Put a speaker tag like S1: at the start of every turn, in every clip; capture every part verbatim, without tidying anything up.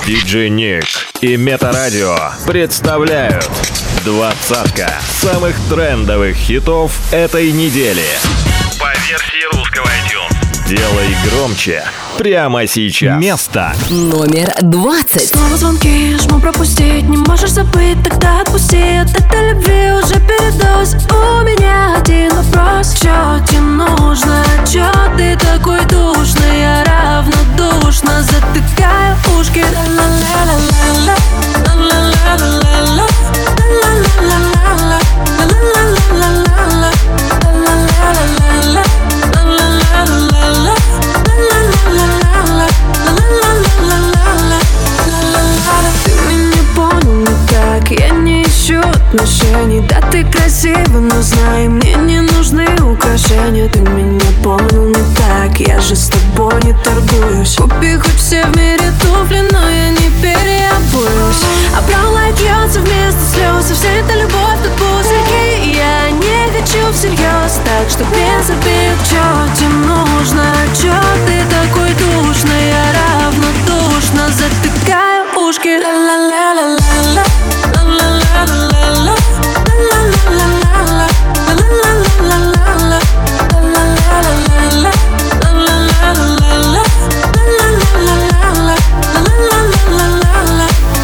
S1: диджей Ник и Метарадио представляют двадцатка самых трендовых хитов этой недели по версии русского iTunes. Делай громче прямо сейчас. Место
S2: номер двадцать.
S3: Снова звонки, жму пропустить. Не можешь забыть, тогда отпусти. От этой любви уже передоз. У меня один вопрос: чё тебе нужно? Чё ты такой душный? Я равнодушно затыкаю ушки. Ла-ла-ла-ла-ла, ла-ла-ла-ла-ла, ла-ла-ла-ла-ла, ла-ла-ла-ла-ла, ла-ла-ла-ла-ла. Ты меня понял не так, я не ищу отношений. Да, ты красива, но знай, мне не нужны украшения. Ты меня понял не так, я же с тобой не торгуюсь. Купи хоть все в мире туфли, но я не переобуюсь. А brown light льется вместо слез, и вся эта любовь тут пузырьки. Я не хочу всерьез, так что без обид. Чё тебе нужно? Чё ты такой душный? Я равнодушно затыкаю ушки. Ла-ла-ла-ла-ла, ла-ла-ла-ла-ла, ла-ла-ла-ла-ла, ла-ла-ла-ла-ла, ла-ла-ла-ла-ла, ла-ла-ла-ла-ла, ла-ла-ла-ла-ла, ла-ла-ла-ла-ла.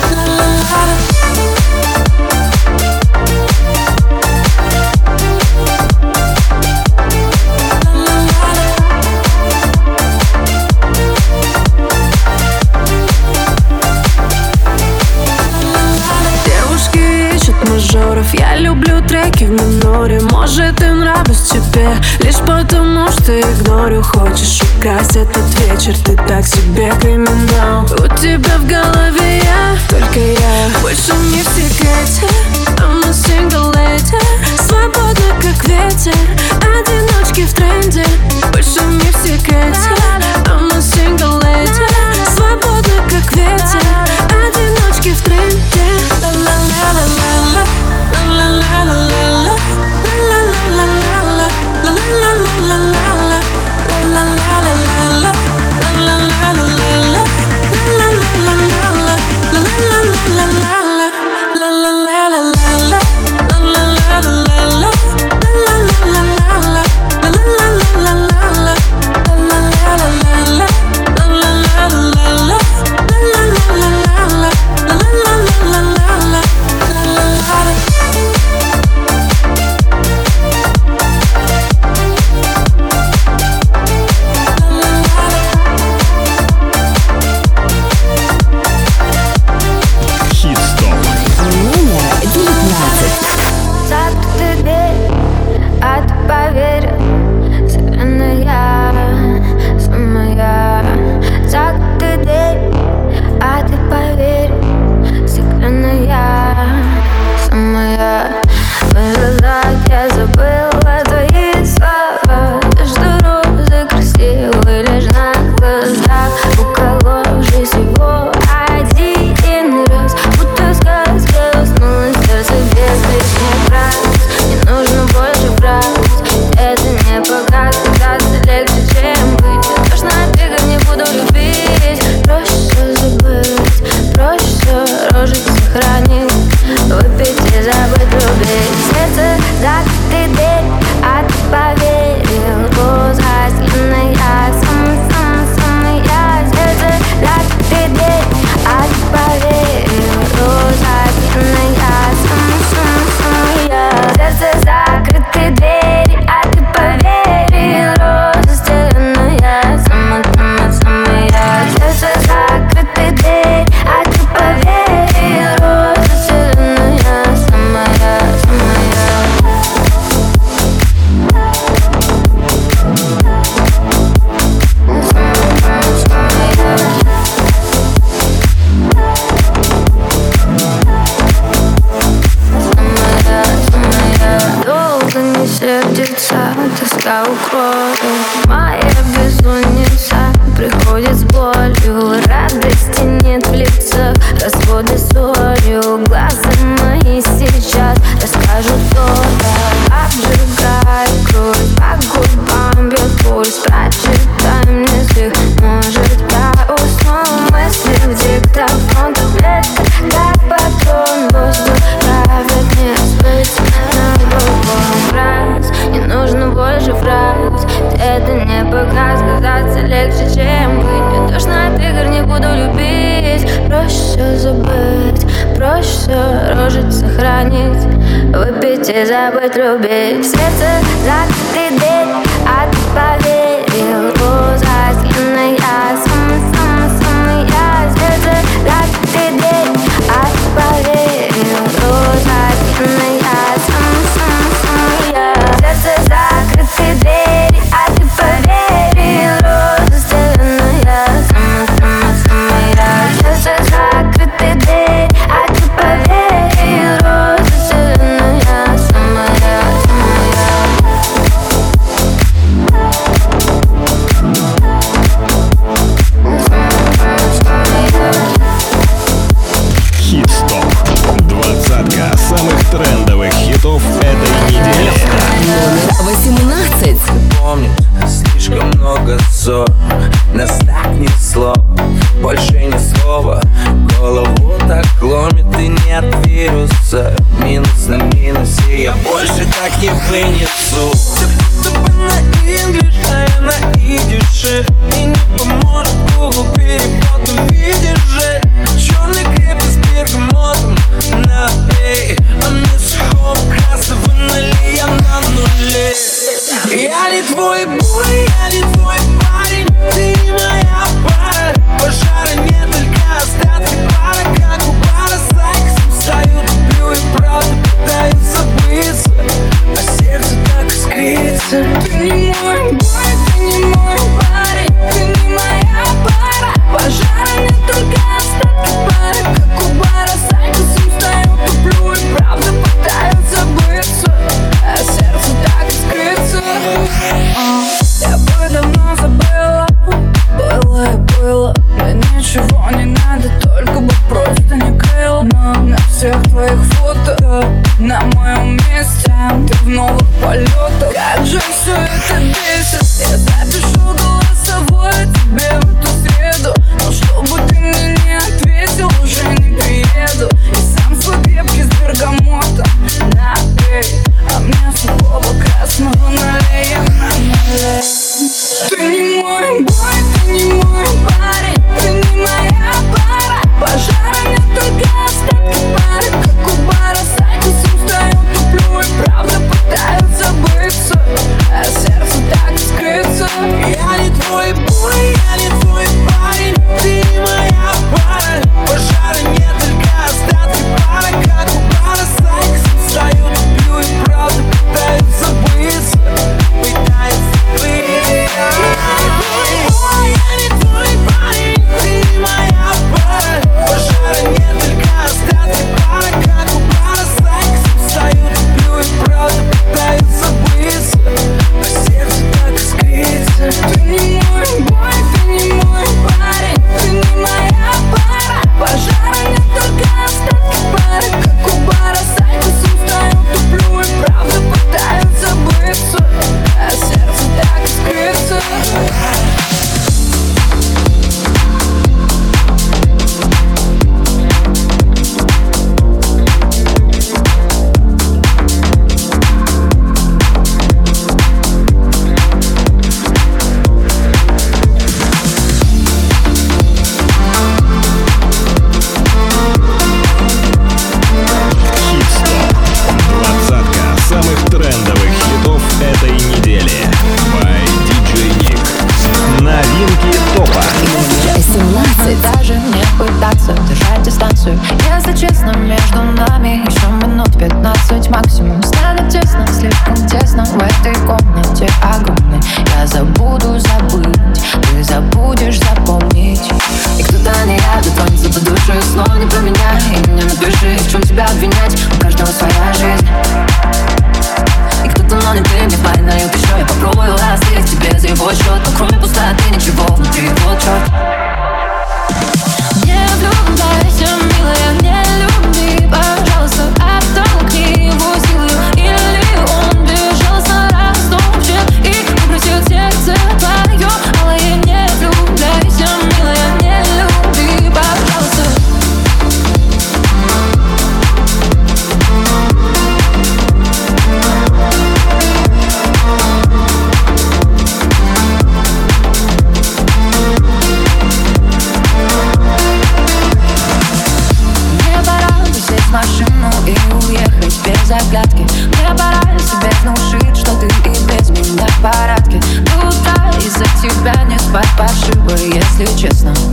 S3: Я люблю треки в миноре. Может, и нравлюсь тебе лишь потому, что игнорю. Хочешь украсть этот вечер, ты так себе криминал. У тебя в голове я, только я. Больше не в секрете, I'm a single lady. Свободна, как ветер, одиночки в тренде. Больше не в секрете, I'm a single lady. Свободна, как ветер, одиночки в тренде. Ла-ла-ла-ла-ла, ла-ла-ла-ла-ла, ла-ла-ла-ла-ла, ла-ла-ла-ла-ла, ла-ла-ла-ла-ла, ла-ла-ла-ла-ла, ла-ла-ла-ла-ла, ла-ла-ла-ла-ла.
S4: все, рожить, сохранить, выпить и забыть любить. В сердце закрытый дверь, а ты поверил. Глаза стены, я самый-самый-самый я. В сердце закрытый дверь, а ты поверил. Глаза стены, я самый-самый-самый я. В сердце закрытый дверь, а ты поверил. Роза стены, я самый-самый-самый я. В сердце закрытый дверь, а ты поверил. Роза стены, я самая, самая.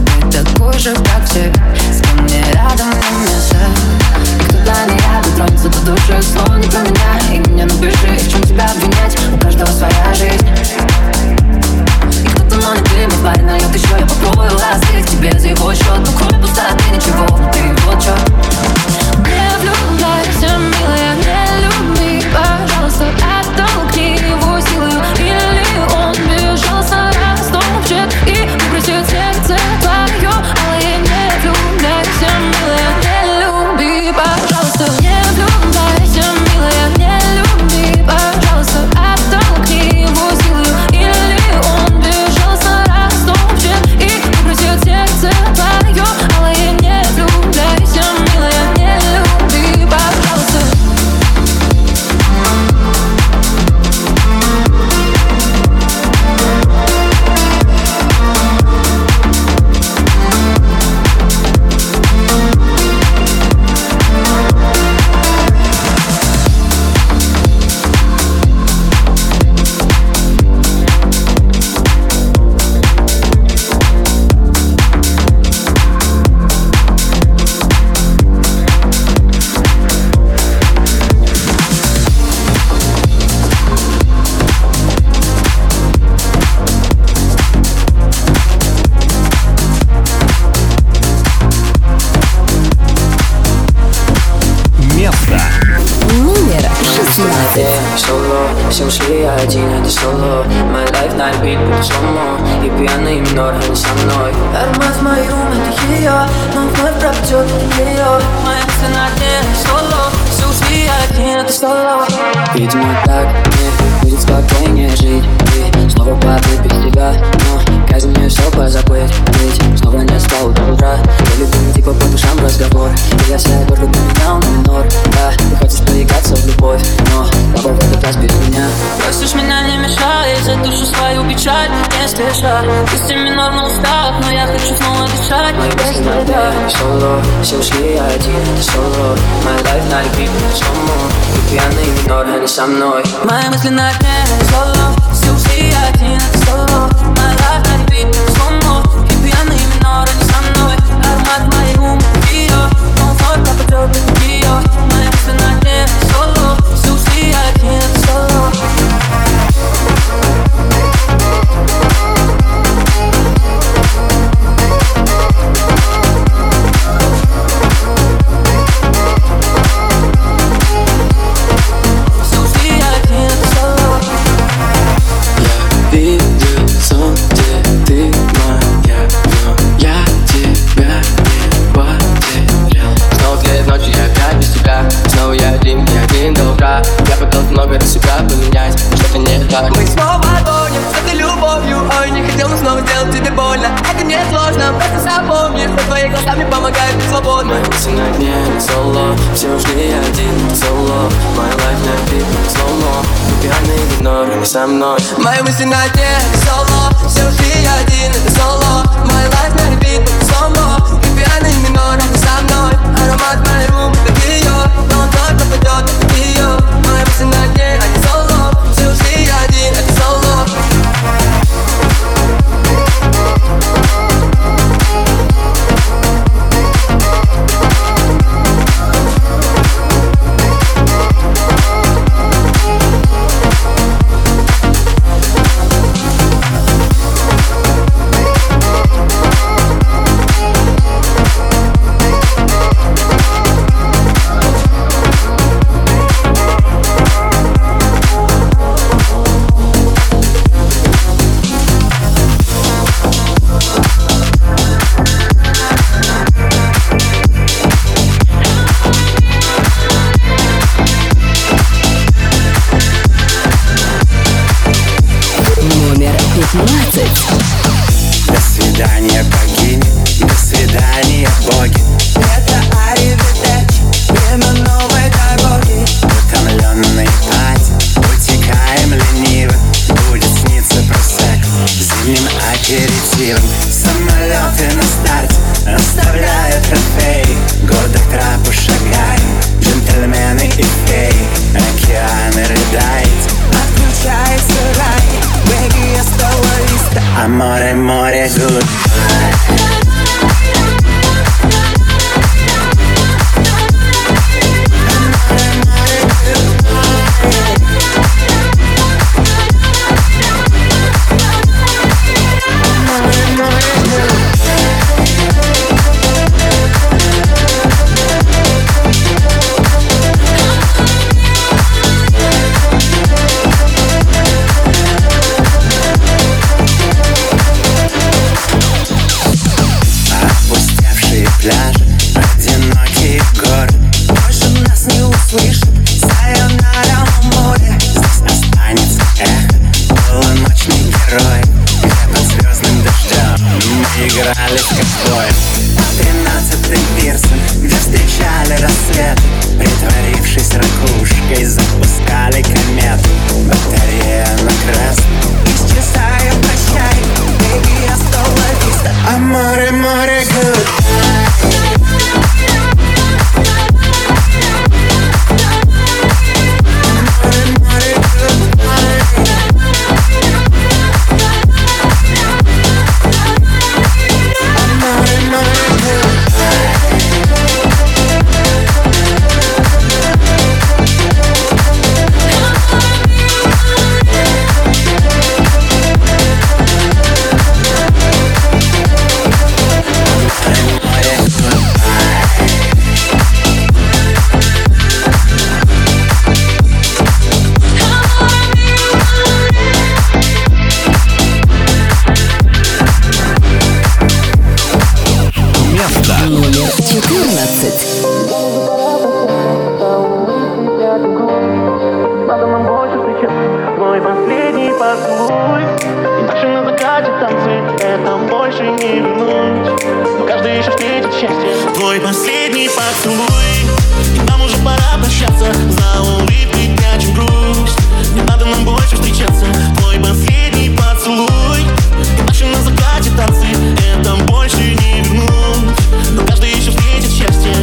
S3: ты такой же, как все. С кем мне рядом не место. И кто для меня дотронется до души, снова не про меня. И мне напиши, в чем тебя обвинять. У каждого своя жизнь. И кто-то, но не ты, мой парень нальет еще. Я попробую ласты к тебе за его счет. Но кроме пустоты ничего внутри, вот чё. Не влюбляйся, милая, не люби, пожалуйста, оттолкни его силою. Или он безжалостно растопчет и выбросит сердце твое. Алые, не влюбляйся, милая, не люби, пожалуйста. Не влюбляйся, милая, не люби, пожалуйста, оттолкни его силою. Или он безжалостно растопчет и выбросит сердце твое. Алые, не влюбляйся, милая, не люби, пожалуйста.
S5: Все ушли, я один, это соло. My life на репит, будто сломо. И пьяный минор, а не со мной. Аромат в мой рум, это ее. Но вновь пропадет ее. Моя мысль на дне, соло. Все ушли, я один, это соло. Видимо так мне будет спокойнее жить. И снова падает без тебя. Но казнь мне все позабыть. Ведь снова не спал до утра. Я любимый типа по душам разговор. И я вся только поменял на минор. Да, ты хочешь проиграться в любовь. Но папа в этот раз без меня.
S3: Просишь меня не мешай, за душу свою печаль не спеша. Пусть и минор на устах, но я хочу снова дышать.
S5: Мои мысли на дне, соло. Все ушли, я один, это соло. My life на репит, будто сломо. И пьяный минор, а не со мной.
S3: Мои мысли на дне, соло. Все ушли, я один, это соло. My life на репит, будто сломо. И пьяный минор, а не со мной. Аромат моей губы, ее. Он вновь пропадет ее. Мои мысли на дне, соло. Все ушли, я один, это соло.
S5: Я пытался много раз себя поменять, но что-то не так.
S6: Мы снова гоним с этой любовью. Ой, не хотел, но снова сделать тебе больно. Это не сложно, просто запомни, что твои глаза мне помогают быть свободным.
S5: Мои мысли на дне, соло. Все ушли, я один, соло. My life на репит, сломо. И пьяный минор, а не со мной.
S6: Мои мысли на дне, соло. Все ушли, я один, это соло. My life на репит, сломо. И пьяный минор, а не со мной. Аромат моей губы, это ее. Но он только пойдет, это ее. Мои мысли на дне, а не соло. Все ушли, я один, это соло.
S7: опустевшие пляжи, одинокие горы. Больше нас не услышит сайонара море. Здесь останется эхо полуночный герой, где под звездным дождем мы играли в ковбоев. Тринадцатый пирсон, где встречали рассветы, притворившись ракушкой, запускали комету. Батарея на красном, исчезая, прощай, baby, hasta la vista. Amore, amore, goodbye.
S2: Номер четырнадцать.
S8: Надо нам больше встречаться, твой последний поцелуй. И дальше на закате танцы, это больше не вернуть. Но каждый еще встретит счастье. Твой последний поцелуй, и нам уже пора прощаться. За улыбкой прячем грусть. Не надо нам больше встречаться. Твой последний поцелуй, и дальше на закате танцы, это больше не вернуть. Но каждый еще встретит счастье.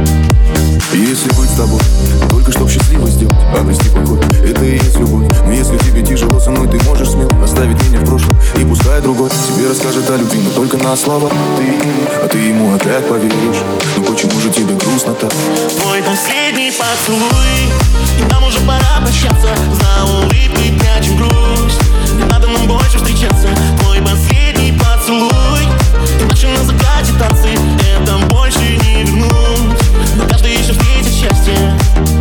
S9: Если быть с тобой, только чтоб счастливо сделать, обрести покой, это и есть любовь. Но если тебе тяжело со мной, ты можешь смело оставить меня в прошлом, и пускай другой тебе расскажет о любви, но только на слова. Ты ему, а ты ему опять поверишь. Но почему же тебе грустно так?
S8: Твой последний поцелуй, и нам уже пора прощаться. За улыбкой прячем грусть. Не надо нам больше встречаться. Твой последний поцелуй, и наши на закате танцы, это больше не вернуть. Но каждый еще встретит счастье.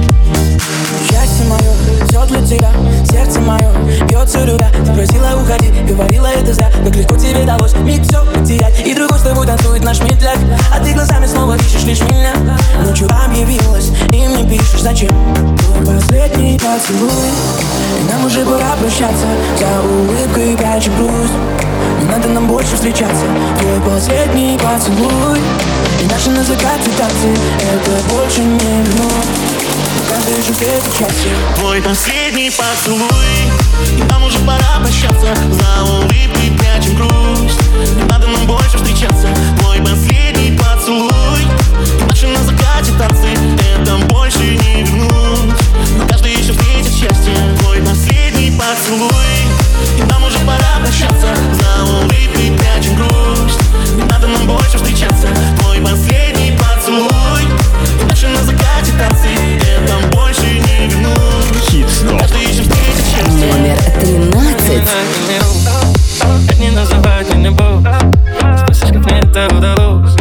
S6: Счастье мое, все для тебя, сердце мое бьется любя. Ты просила уходи, говорила это зря. Как легко тебе далось миг все потерять. И другой с тобой танцует наш медляк. А ты глазами снова ищешь лишь меня. Ночью объявилась, и мне пишешь зачем. Твой последний поцелуй, и нам уже пора прощаться. За улыбкой прячем грусть. Не надо нам больше встречаться. Твой последний поцелуй, и наши на закате танцы, это больше не вернуть. Каждый же встретит счастье.
S8: Твой последний поцелуй, и нам уже пора прощаться. За улыбкой прячем грусть. Не надо нам больше встречаться. Твой последний поцелуй, и наши на закате танцы, это больше не вернуть. Но каждый еще встретит счастье. Твой последний поцелуй, и нам уже пора прощаться. За улыбкой прячем грусть. Не надо нам больше встречаться. Твой последний поцелуй, и наши на закате танцы, это больше не вернуть.
S1: Хит-стоп.
S8: Каждый еще встретит счастье.
S2: Номер тринадцать.
S10: Не называть не любовь, спросишь, как мне это удалось.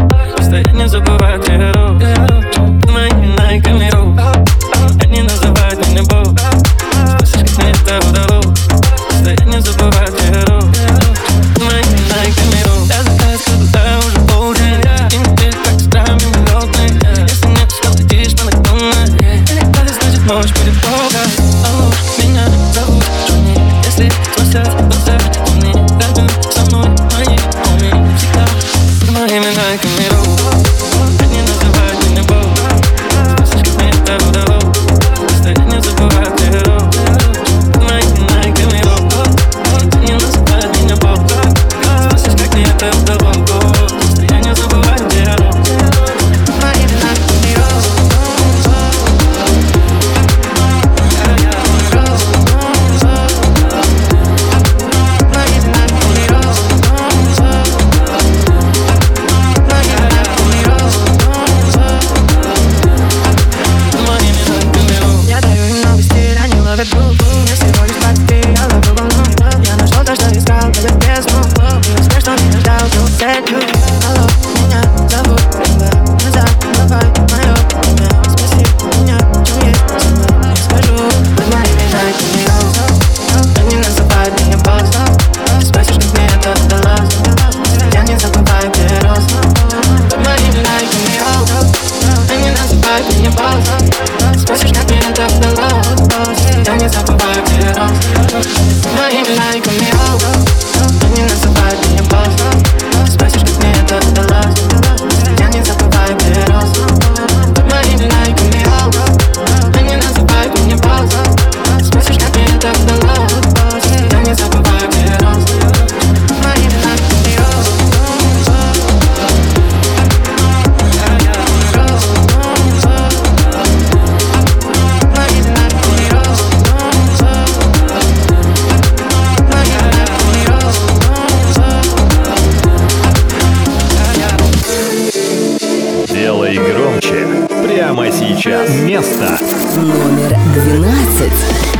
S1: встречи прямо сейчас. Место
S2: номер двенадцать.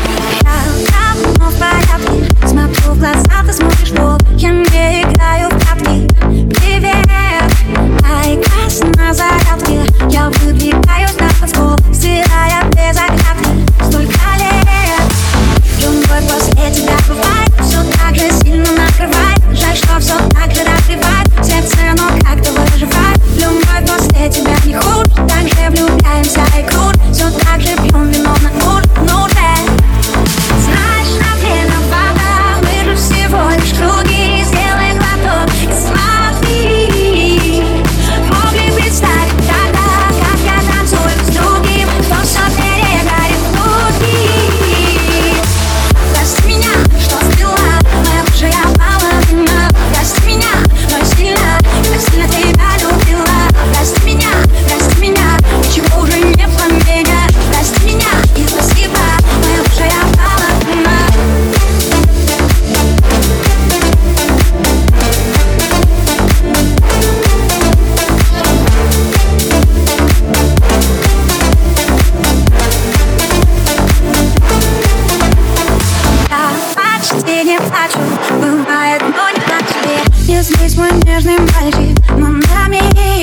S4: Я в порядке, смотрю в глаза, ты смотришь в пол. Я не играю в прятки. Привет, айкас на зарядке. Я выдвигаюсь на танцпол, стирая без оглядки. Столько лет, любовь после тебя бывает, все так же сильно накрывает. Жаль, что все так же разбивает сердце, но как-то выживает. Любовь после тебя не хуже, так же влюбляемся и крут. Все так же пьем вино на ур, ну же. Знаешь, на время вода, мы же всего лишь круги. Сделай глоток и смотри. Могли представить тогда, как я танцую с другим, кто все перегорит внутри. Прости меня, что сбила, моя бывшая половина. Прости меня, но я сильно, так сильно тебя любила. Прости меня, прости меня, ничего уже не поменять. Прости меня и спасибо, моя бывшая половина. Я почти не плачу, бывает, но не так тебе. Не злись, мой нежный мальчик, но нами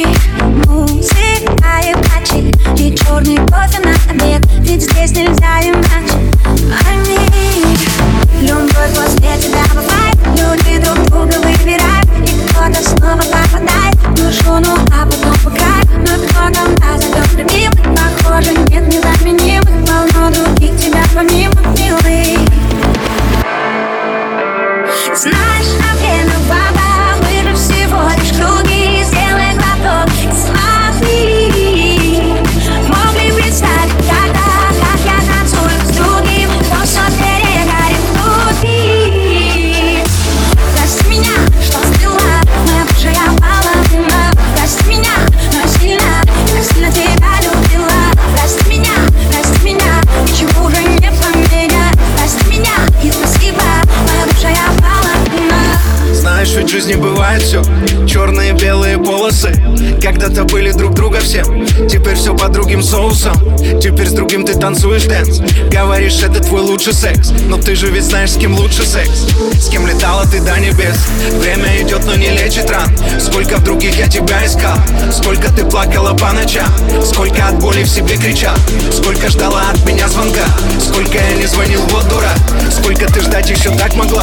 S4: музыка и плачи, и черный кофе на обед, ведь здесь нельзя иначе. Пойми, любовь после тебя бывает, люди друг друга выбирают, и кто-то снова попадает в душу, ну а потом в край. Но кто-то нас зовет любимым, похоже, нет незаменимых, полно других тебя помимо, милый. Знаешь, на время вода, мы же всего лишь круги. Сделай глоток и смотри. Могли представить тогда, как я танцую с другим, кто все перегорит внутри. Прости меня, что сбила, моя бывшая половина. Прости меня, но я сильно, так сильно тебя любила. Прости меня, прости меня, ничего уже не поменять. Прости меня и спасибо, моя бывшая половина.
S10: Знаешь, ведь в жизни бывает все, черные, белые полосы. Когда-то были друг друга всем, теперь все под другим соусом. Теперь с другим ты танцуешь дэнс. Говоришь, это твой лучший секс, но ты же ведь знаешь, с кем лучше секс. С кем летала ты до небес. Время идет, но не лечит ран. Сколько в других я тебя искал, сколько ты плакала по ночам, сколько от боли в себе кричал, сколько ждала от меня звонка, сколько я не звонил, вот дурак. Сколько ты ждать еще так могла.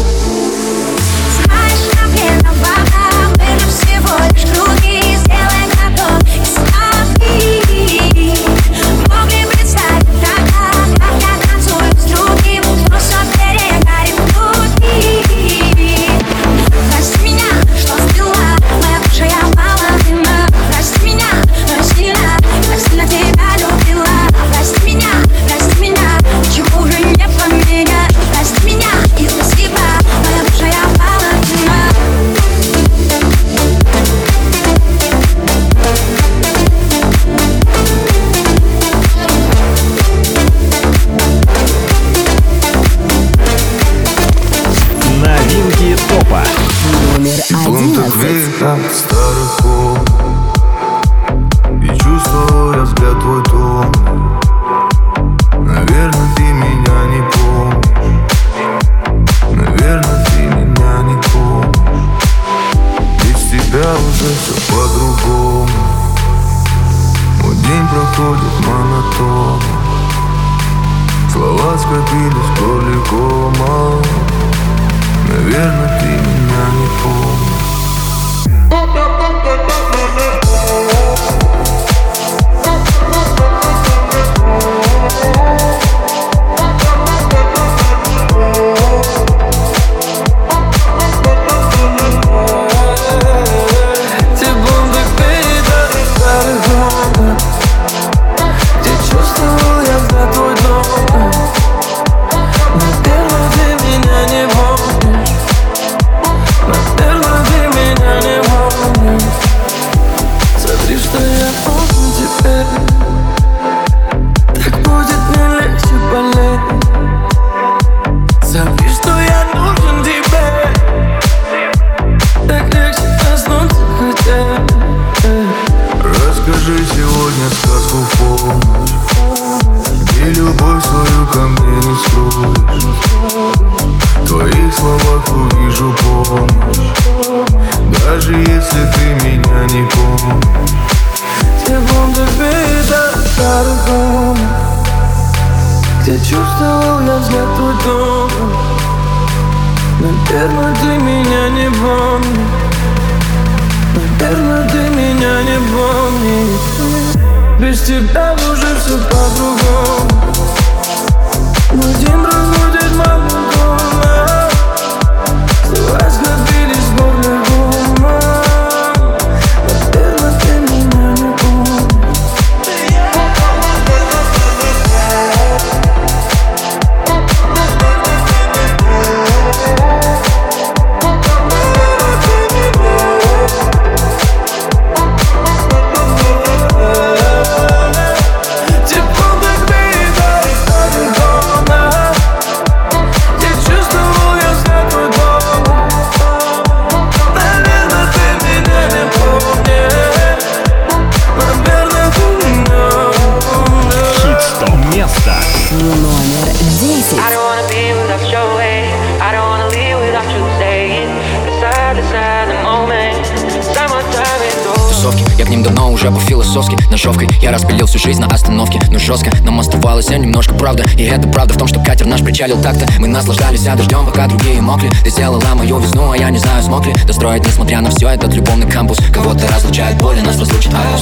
S4: Знаешь, на время вода, мы же всего лишь круги. Сделай глоток и смотри. Могли представить тогда, как я танцую с другим, кто все перегорит внутри. Прости меня, что сбила, моя бывшая половина. Прости меня, но я сильно, так сильно тебя любила. Прости меня, прости меня, ничего уже не поменять. Прости меня и спасибо, моя бывшая половина.
S1: новинки топа.
S2: Номер одиннадцать.
S9: На старых комнат и чувствовал я взгляд твой тон. Наверное, ты меня не помнишь. Наверное, ты меня не помнишь. Без тебя уже все по-другому. Мой день проходит монотонно. Слова скопились в горле кома. Наверное, ты меня не помнишь. мне сказку в полночь, где любовь свою ко мне не скроешь. В твоих словах увижу помощь, даже если ты меня не помнишь.
S6: Теплом дождя старых комнат, где чувствовал я взгляд твой добрый. Наверное, ты меня не помнишь. Наверное, ты меня не помнишь. Без тебя уже все по-другому. Мой день разбудит маму дома. Слова сгодились в горле дома. Наверное, ты меня не помнишь.
S2: Номер десять.
S11: Тусовки, я к ним давно уже по-философски ножовкой я распилил всю жизнь на остановке. Но жестко нам оставалось немножко правда. И это правда в том, что катер наш причалил так-то. Мы наслаждались дождем, пока другие мокли. Ты сделала мою весну, а я не знаю, смог ли достроить, несмотря на все, этот любовный кампус. Кого-то разлучает боль, и нас разлучит август.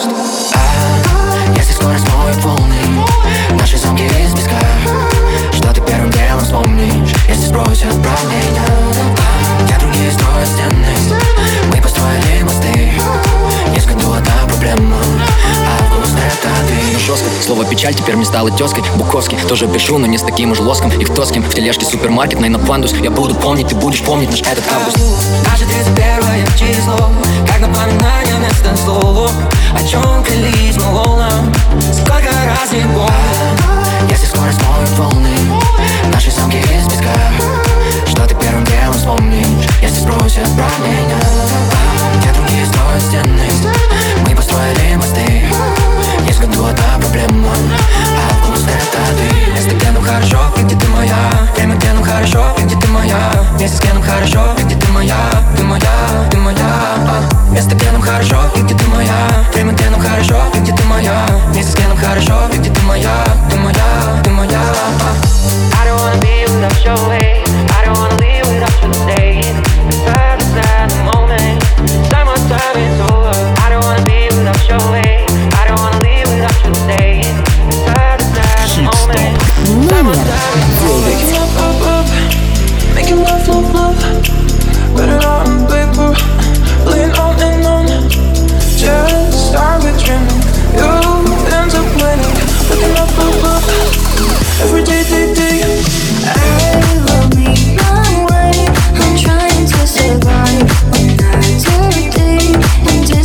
S11: А, если скоро смоют волны наши замки из песка, что ты первым делом вспомнишь, если сбросят правления? Я другие строят стены, мы построили мосты. Есть в году одна проблема, август это ты. Жестко, слово печаль теперь мне стало тезкой. Буковский, тоже пишу, но не с таким уж лоском. И кто с кем в тележке супермаркетной на пандус. Я буду помнить, ты будешь помнить наш этот август.
S6: Наше тридцать первое число, как напоминание вместо слова. О чем клялись мы волнам, сколько раз не помню.
S11: Если скоро смоют волны наши замки из песка, что ты первым делом вспомнишь, если спросят про меня? Где другие строят стены, мы построили мосты. Есть в году одна проблема, август это ты. Место, где нам хорошо, и где ты моя. Время, где нам хорошо, и где ты моя. Место, где нам хорошо, и где ты моя. Ты моя, ты моя. Место, где нам хорошо, и где ты моя. Время, где нам хорошо, и где ты моя. Место, где нам хорошо, и где ты моя. Ты моя, ты моя.
S5: I don't wanna be without your way. I don't wanna leave without you staying. Beside us at the moment, summertime is over. I don't wanna be without your way. I don't wanna leave without you staying. Beside us at the moment.
S2: Номер девять.
S6: Making love, love, love. Put it on paper, laying on and on. Just start with dreaming. You ends up winning. Looking up, up, up. Every day, day, day.
S4: I will be my way. I'm trying to survive one night every day. And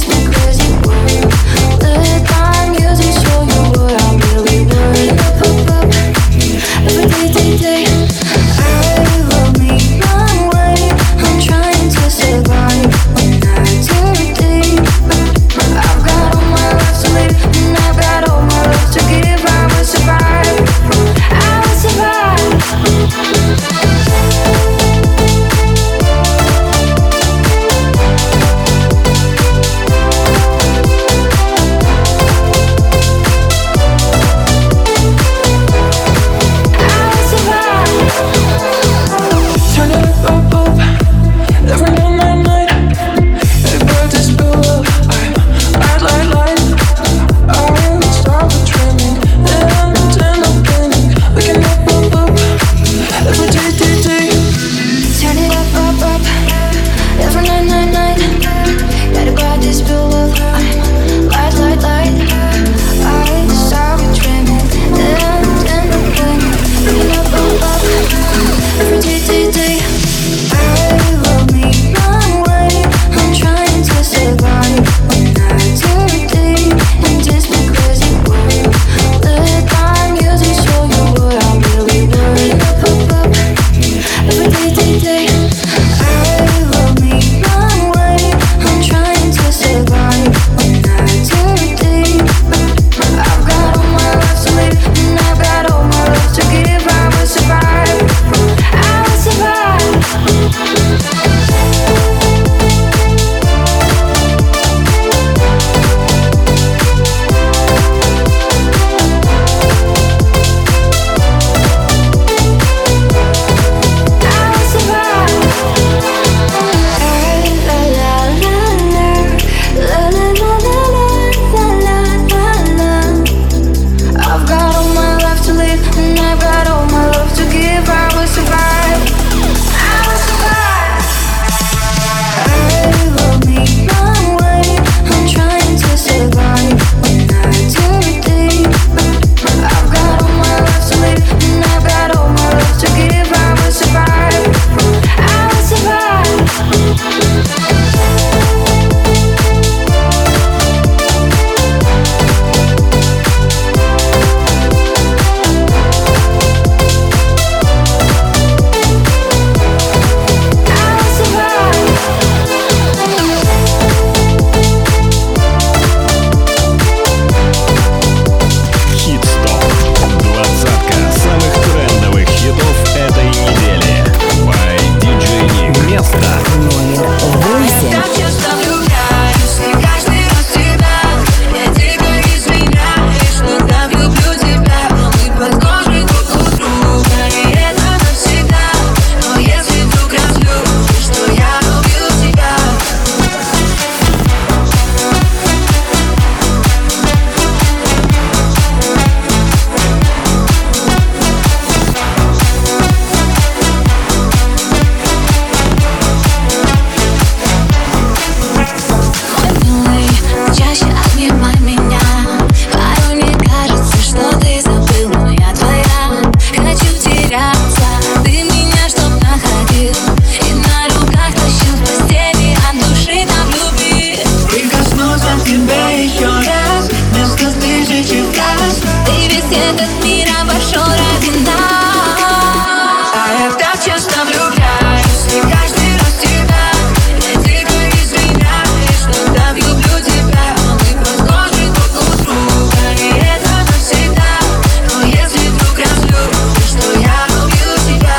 S6: тебе еще раз, вместо тысячи фраз.
S4: Ты весь этот мир обошел ради нас.
S6: А я так часто влюбляюсь, и каждый раз тебя. Я дико извиняюсь, что так люблю тебя. Мы похожи друг у друга, и это навсегда. Но если вдруг разлюбишь, то я убью тебя.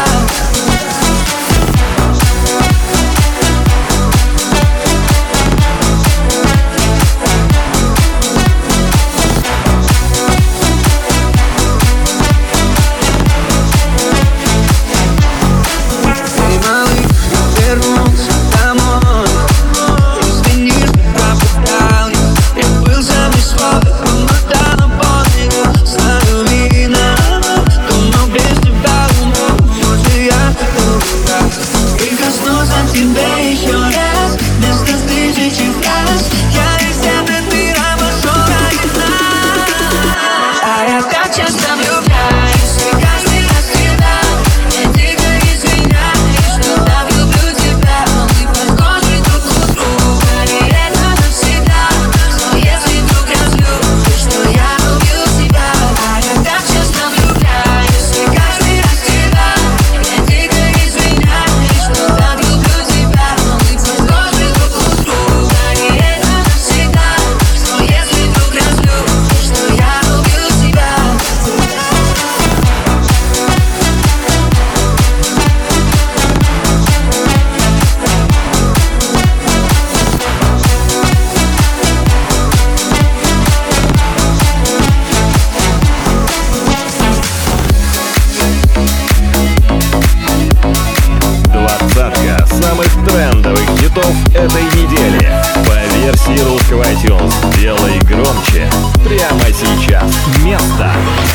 S1: Этой недели по версии русского iTunes. Делай громче прямо сейчас. Место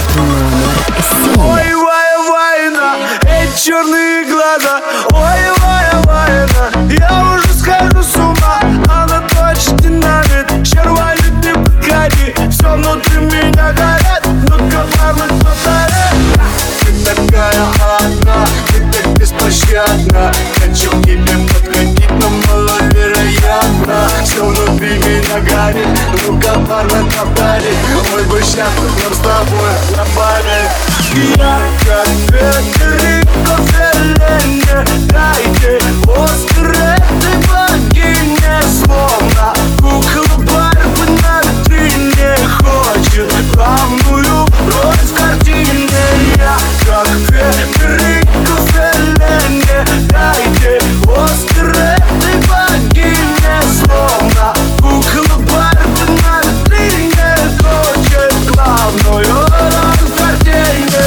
S2: Номер
S12: Ой, Вая, Вайна, эти черные глаза. Ой, Вая, Вайна, я уже схожу с ума. Она точно динамит, червали не подходи. Все внутри меня горят, но коварно повторяй. Ты такая одна, ты так беспощадна. Хочу к тебе подходить, но маловероятно. Все внутри меня горит, ну коварно повтори. Мы бы сейчас нам с тобой напали. Я как Федерико Феллини, дайте Оскар этой богине. Словно кукла Барби на витрине хочет главную роль в картине. Я как Федерико Феллини, дайте Оскар этой богине. Словно кукла Барби на витрине хочет главную роль в картине.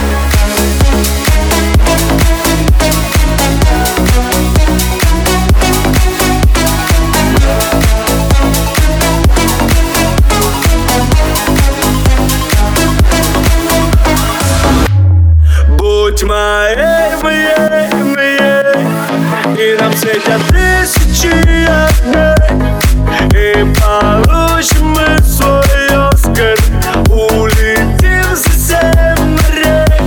S12: Будь моей, моей, моей, и нам светят тысячи огней, и получим мы свой Оскар, улетим за семь морей.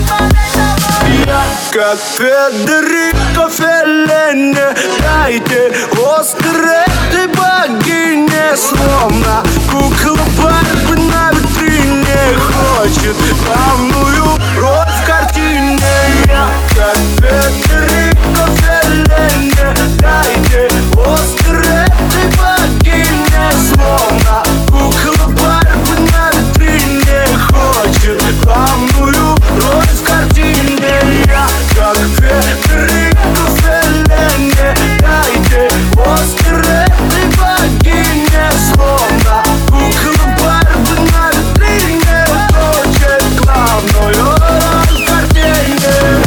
S12: Я как Федерико Феллини, дайте Оскар этой богине. Словно кукла Барби на витрине хочет главную роль в картине. Я как Федерико Феллини, дайте Оскар этой богине. Словно кукла Барби на витрине хочет главную роль в картине. Я как Федерико Феллини, дайте Оскар этой богине. Словно кукла Барби на витрине хочет главную роль в картине.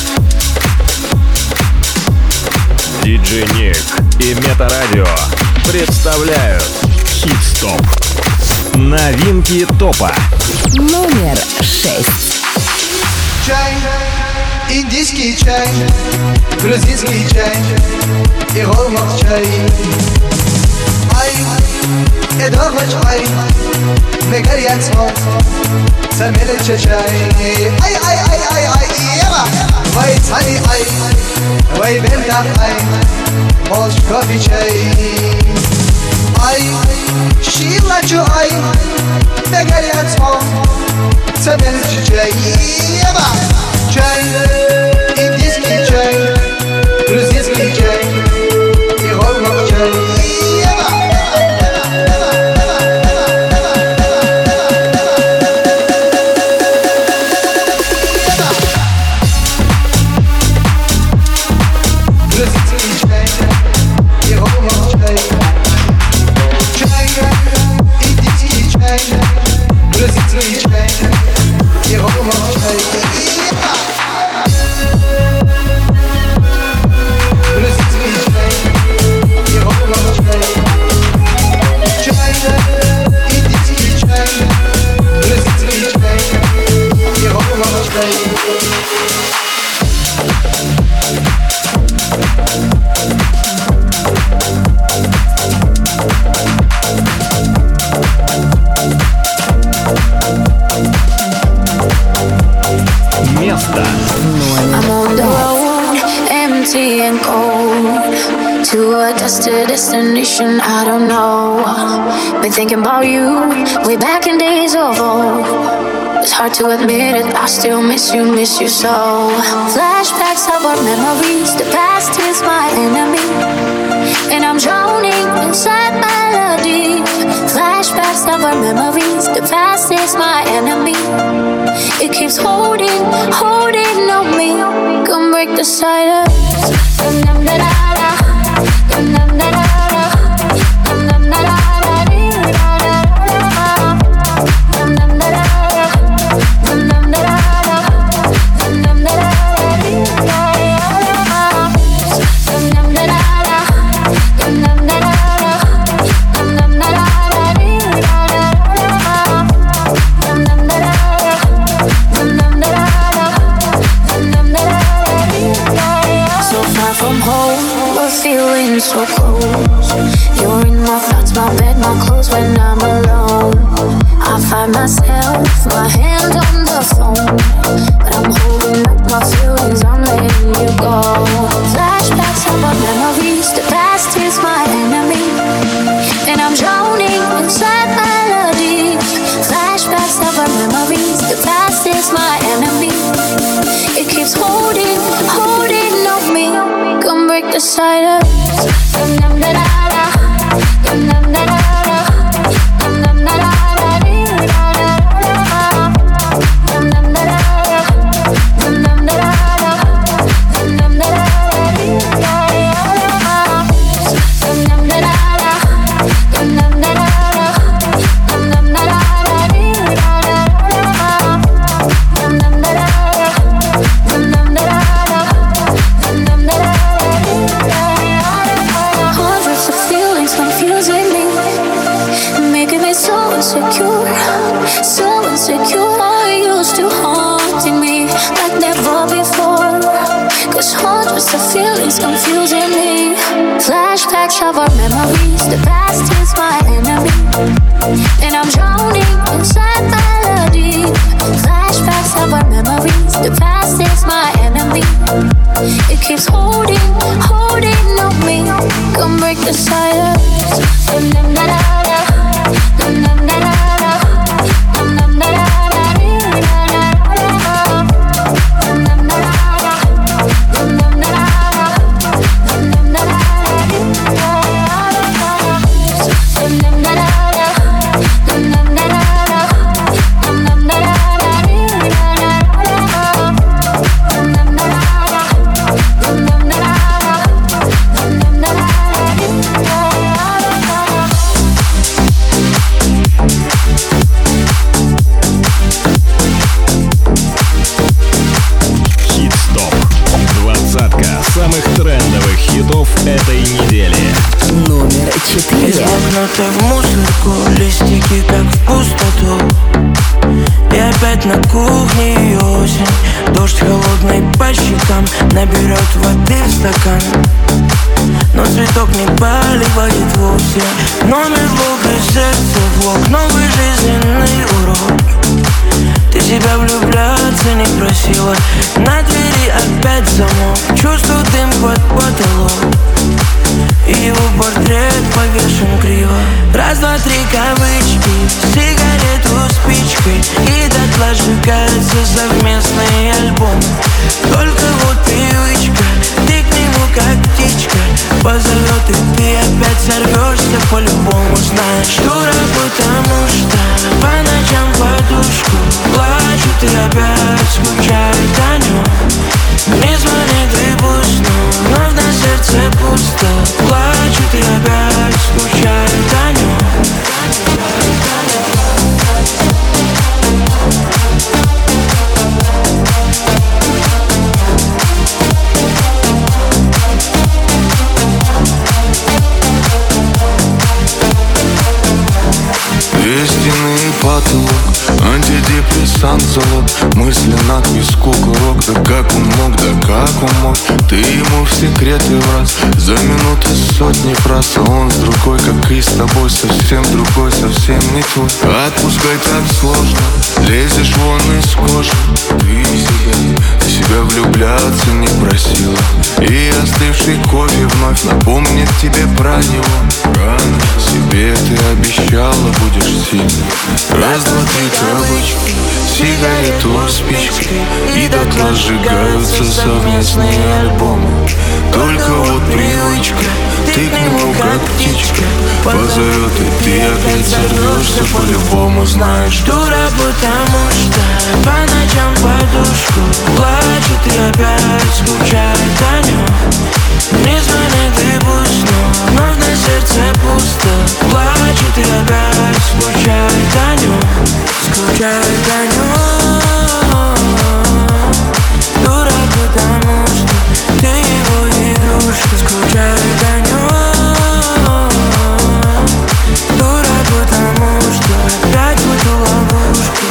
S1: Диджей Ник и Метарадио представляют Хит-стоп. Новинки топа.
S2: Номер шесть.
S13: Чай, индийский чай, грузинский чай и голмак чай. Ай, эдорноч ай, мегарьян смог, самелече чай. Ай, ай, ай, ай, ай, ева. Вай цани ай, вай бента ай, молч кофе чай. Ай, шилачу ай, мегарьян смог, самелече чай. Ева. Чай, индийский чай, грузинский чай и голмак чай.
S4: Destination, I don't know. Been thinking about you way back in days of old. It's hard to admit it, I still miss you, miss you so. Flashbacks of our memories, the past is my enemy, and I'm drowning inside melody. Flashbacks of our memories, the past is my enemy. It keeps holding, holding on me. Come break the silence. So close, you're in my thoughts, my bed, my clothes when I'm alone. I find myself, my hand on the phone, but I'm holding up my feelings, I'm letting you go. Flashbacks of our memories, the past is my enemy, and I'm drowning inside melody. Flashbacks of our memories, the past is my enemy. It keeps holding, holding on me. Come break the silence. Flashbacks of our memories, the past is my enemy, and I'm drowning inside melody. Flashbacks of our memories, the past is my enemy. It keeps holding, holding on me. Come break the silence.
S14: воткнуты в мусорку, листики как в пустоту. И опять на кухне осень, дождь холодный по щекам наберет воды в стакан, но цветок не поливает вовсе. Номер Бога, сердце влог, новый жизненный урок. Ты себя влюбляться не просила, на двери опять замок. Чувствую дым под потолок, и его портрет повешен криво. Раз, два, три кавычки, сигарету спичкой, и дотла сжигаются совместные альбомы. Только вот привычка, ты к нему как птичка позовет, и ты опять сорвешься по-любому. Знаешь, дура, потому что по ночам подушку плачут и опять скучают о нем. Не звонит и пусть, но вновь на сердце пусто. Плачут и опять скучают о нем.
S9: Стены и потолок, антидепрессант залог. Мысли надпись кукурок, да как он мог, да как он мог. Ты ему в секреты враз, за минуты сотни фраз, а он с другой, как и с тобой, совсем другой, совсем не твой. Отпускай так сложно, лезешь вон из кожи. Ты себя, ты себя влюбляться не просила, и остывший кофе вновь напомнит тебе про него. Рано себе ты обещала, будешь сильной. Раз, два, три кавычки, сигарету спичкой, и дотла сжигаются совместные альбомы. Только вот привычка, ты к нему как птичка позовет, и ты опять сорвешься по-любому. Знаешь,
S14: дура, потому что по ночам подушку плачет и опять скучает о нем. Не звонит и пусть, но вновь на сердце пусто. Плачет и опять скучает о нем. Скучает о нем. Дура, потому что ты его игрушка. Скучает о нем. Дура, потому что опять в эту ловушку.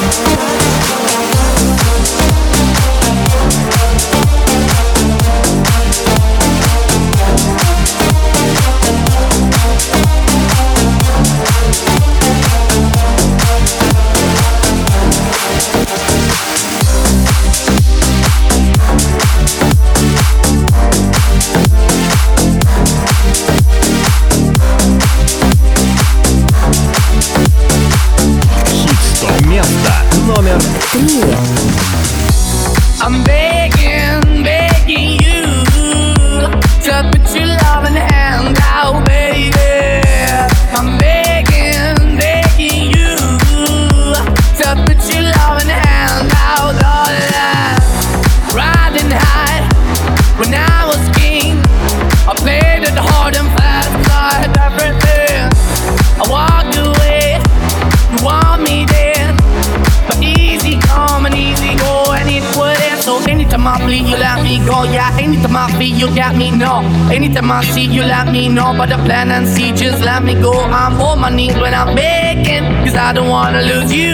S1: Номер
S2: три.
S15: I'm begging, begging you to put your loving hand out, baby. I'm begging, begging you to put your loving hand out, darling. Riding high when I was king, I played it hard and fast, I had everything. I walked away, you want me there, but easy come and easy go, and it wouldn't. So anytime I bleed, you let me go. Yeah, anytime I feel, you got me, no. Anytime I see, you let me know. But the plan and see, just let me go. I'm on my knees when I'm begging, cause I don't wanna lose you.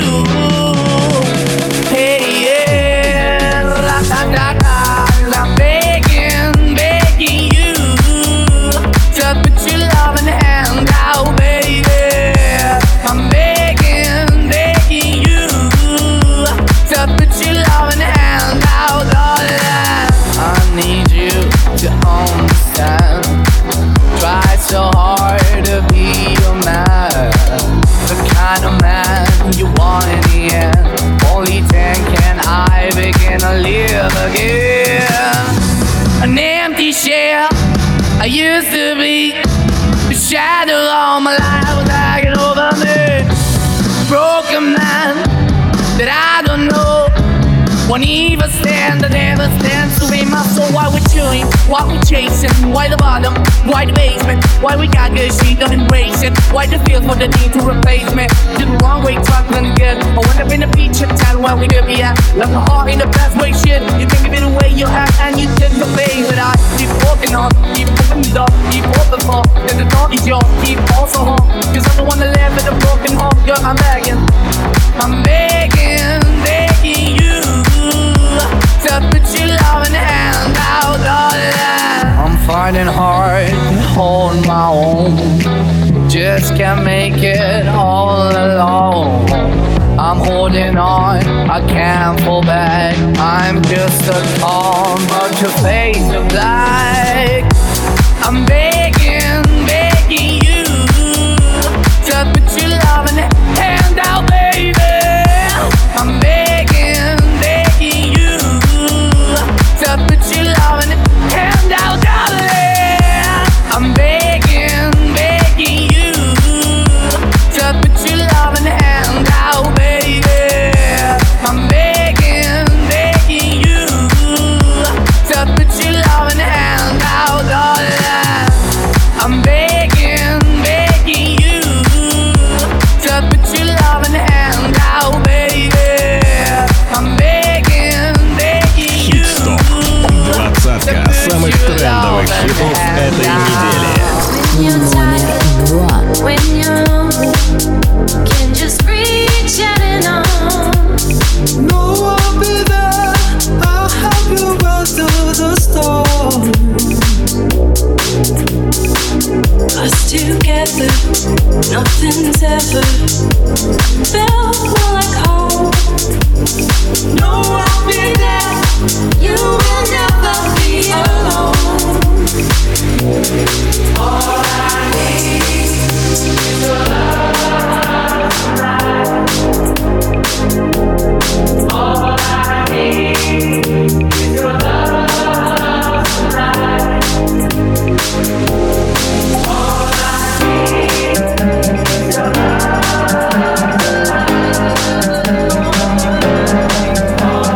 S15: Hey, yeah, la da da da. I'm begging, begging you to put your loving hand out, baby. I'm begging, begging you to put your loving hand out, darling. I need you to understand. Try so hard to be your man, the kind of man you want in the end. Only then can I begin to live again. An empty shell I used to be, the shadow all my life was hanging over me. Broken man that I don't know won't even stand, I never stand to be my soul. Why we're chilling, why we chasing, why the bottom, why the basement, why we got good, she don't embrace it, why the feel for the need to replace me. Did the wrong way, trying to get. I went up in the feature town where we could be at. Left my heart in the best way, shit. You think of it the way you have, and you did the way. But I keep walking on, keep moving the door, keep open for. Then the door is yours, keep also home. Cause I'm the one that live in a broken home, girl, I'm begging. I'm begging, begging you to put your loving hand out, darling. I'm finding hard to hold my own. Just can't make it all alone. I'm holding on, I can't fall back. I'm just a calm, but your face of black. I'm begging, begging you to put your loving hand out, baby. I'm begging, begging you to put your loving hand out, darling. I'm begging, begging you to put your loving hand out, baby. I'm begging, begging you to put your loving hand out, darling. I'm begging, begging you to put your loving hand out, baby. I'm begging, begging you.
S1: Двадцатка самых трендовых хитов этой недели.
S2: Номер два.
S3: When you're lonely, can just reach out and on.
S13: No, I'll be there. I'll help you weather the storm.
S3: Us together, nothing's ever felt more like home.
S13: No, I'll be there.
S3: You will never be alone.
S13: All I need is your love tonight. All I need is your love tonight. All I need is your love tonight.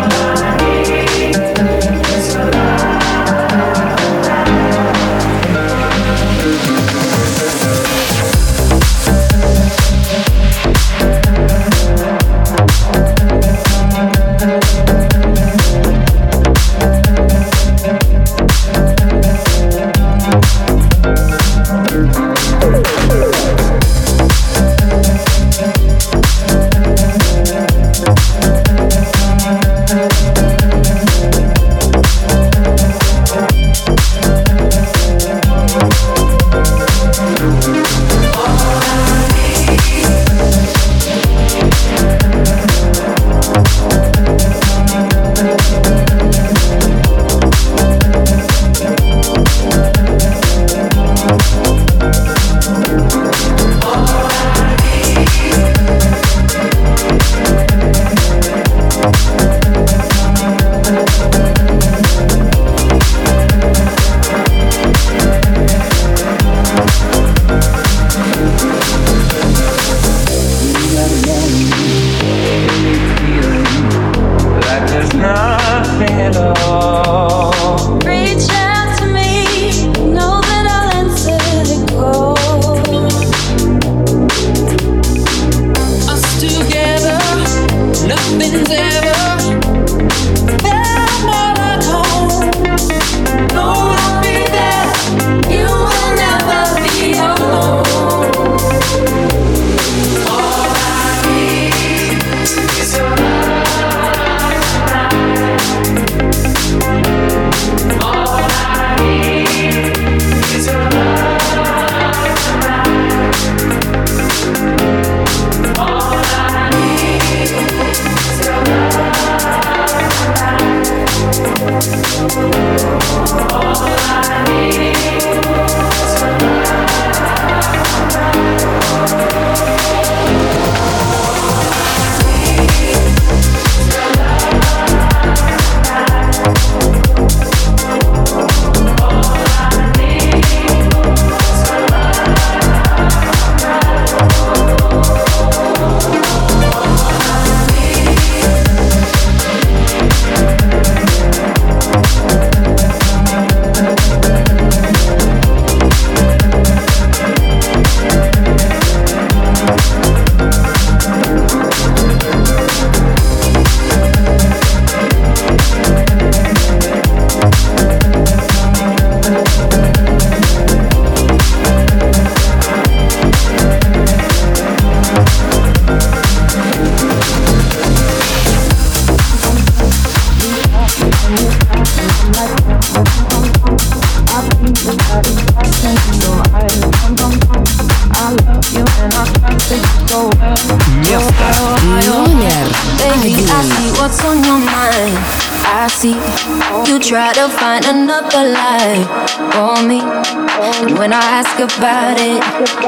S4: so well.
S2: Номер
S4: Baby, I
S2: один.
S4: see what's on your mind. I see you try to find another life for me. And when I ask about it,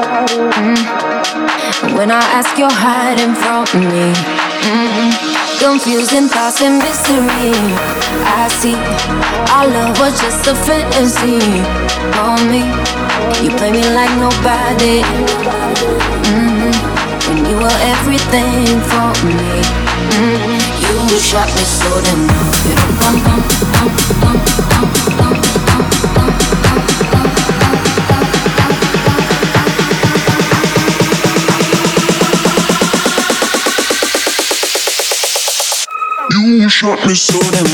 S4: mm, when I ask, you're hiding from me. Mm, confusing thoughts and mystery. I see our love was just a fantasy for me. You play me like nobody. Mm, when you were everything for me. Mm, you shot me so damn well.
S16: You shot me so damn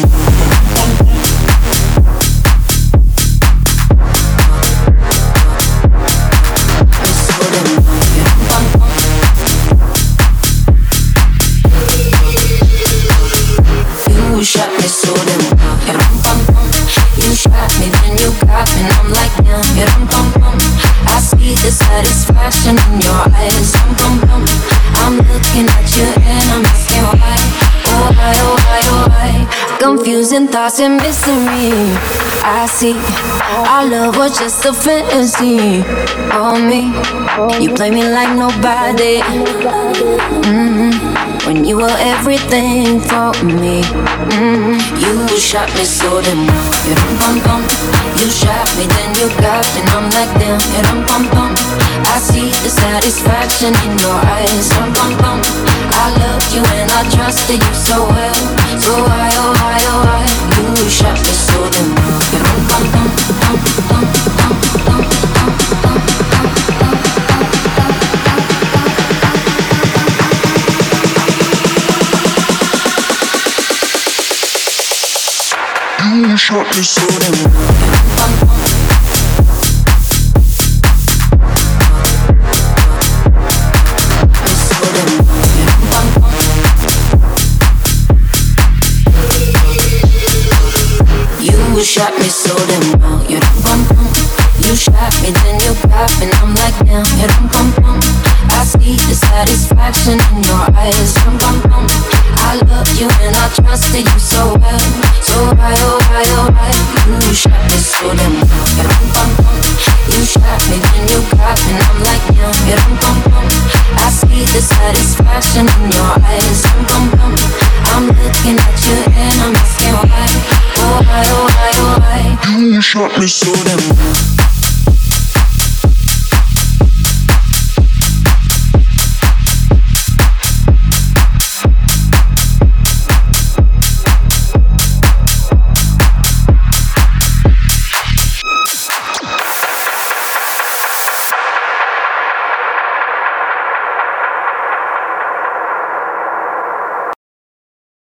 S4: You shot me so damn well. You shot me, then you got me, and I'm like damn. I see the satisfaction in your eyes. I'm looking at you and I'm asking why. Oh why, oh why, oh why. Confusing thoughts and mystery. I see our love was just a fantasy for me. You play me like nobody. Mm-hmm. When you were everything for me. Mm-hmm. You shot me so damn well. You shot me, then you got me, and I'm like damn. I see the satisfaction in your eyes. I loved you and I trusted you so well. So why, oh why, oh why? You shot me so damn well.
S16: You shot me so damn well.
S4: You shot me so damn well. You You shot me, then you got me, and I'm like damn. I see the satisfaction in your eyes. I loved you and I trusted you so well. So why, oh why, oh why? You shot me so damn well. You shot me, then you got me, and I'm like damn. I see the satisfaction in your eyes. I'm looking at you and I'm asking why. Oh why, oh why, oh why?
S16: You shot me so damn well.